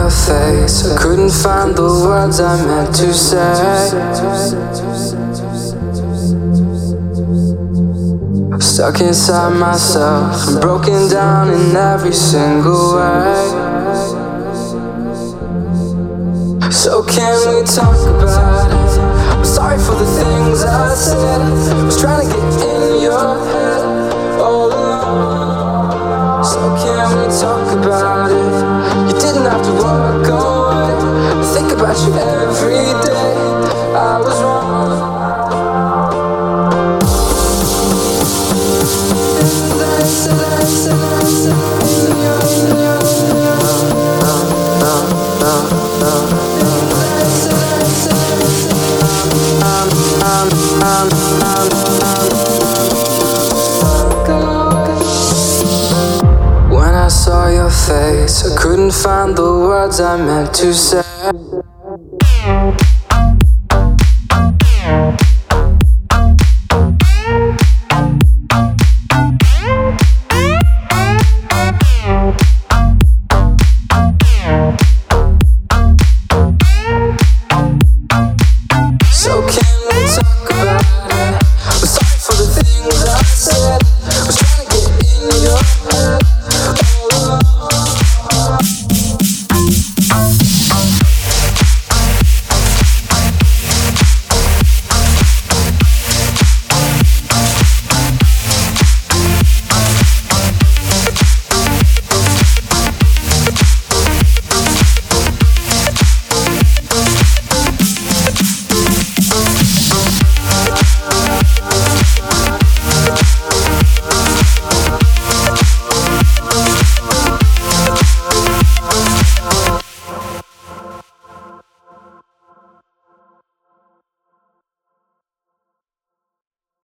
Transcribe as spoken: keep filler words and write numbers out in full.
your face, I couldn't find the words I meant to say. Stuck inside myself and broken down in every single way. So can we talk about it? I'm sorry for the things I said. I was trying to get in your head all along. So can we talk about it? You didn't have to walk away. I think about you every day. I was wrong. When I saw your face, I couldn't find the words I meant to say.